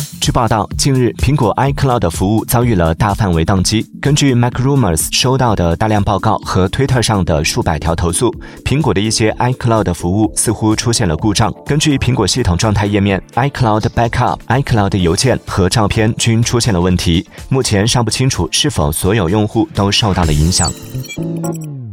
据报道，近日苹果 iCloud 服务遭遇了大范围宕机。根据 MacRumors 收到的大量报告和推特上的数百条投诉，苹果的一些 iCloud 服务似乎出现了故障。根据苹果系统状态页面 ，iCloud Backup、iCloud 邮件和照片均出现了问题，目前尚不清楚是否所有用户都受到了影响。